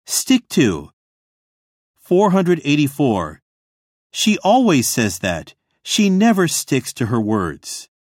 Stick to. 484. She always says that. She never sticks to her words.